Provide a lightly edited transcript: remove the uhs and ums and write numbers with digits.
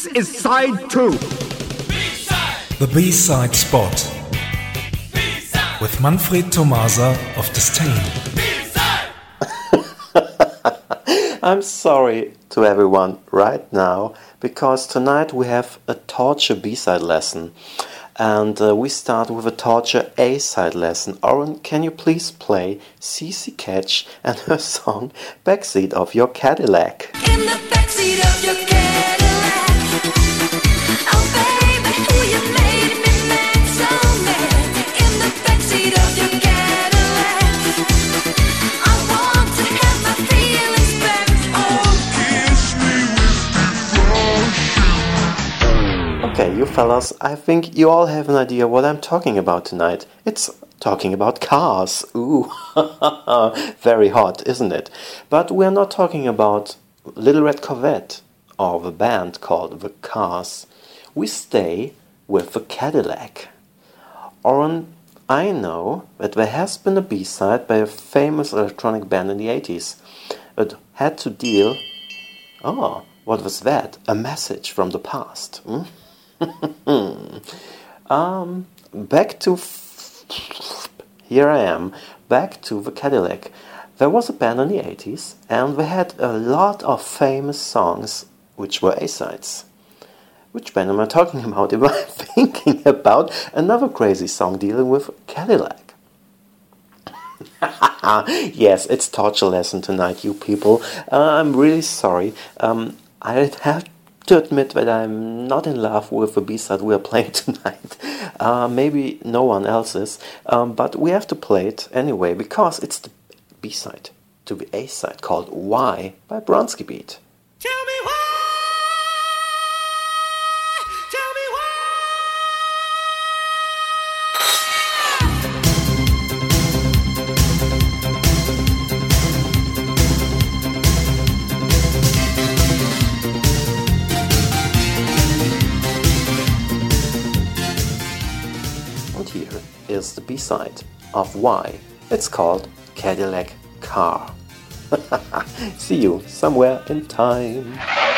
This is side 2. B-side. The B-side spot B-side. with Manfred Tomasa of Disdain. B-side. I'm sorry to everyone right now, because tonight we have a torture B-side lesson. And we start with a torture A-side lesson. Oren, can you please play CC Catch and her song Backseat of Your Cadillac? In the backseat of your Cadillac. Oh baby, who you made me mad, so mad. In the backseat of your Cadillac. I want to have my feelings back. Oh, kiss me with devotion. Okay, you fellas, I think you all have an idea what I'm talking about tonight. It's talking about cars. Ooh, very hot, isn't it? But we're not talking about Little Red Corvette or the band called The Cars. We stay with the Cadillac. Oren, I know that there has been a B-side by a famous electronic band in the 80s. It had to deal... Oh, what was that? A message from the past. Back to... Here I am, back to the Cadillac. There was a band in the 80s, and they had a lot of famous songs which were A-sides. Which band am I talking about if I'm thinking about another crazy song dealing with Cadillac? Yes, it's torture lesson tonight, you people. I'm really sorry. I have to admit that I'm not in love with the B-side we are playing tonight. Maybe no one else is, but we have to play it anyway because it's the B-side to the A-side called Why by Bronski Beat. Tell me why. Tell me why. And here is the B-side of Why. It's called Cadillac Car. See you somewhere in time.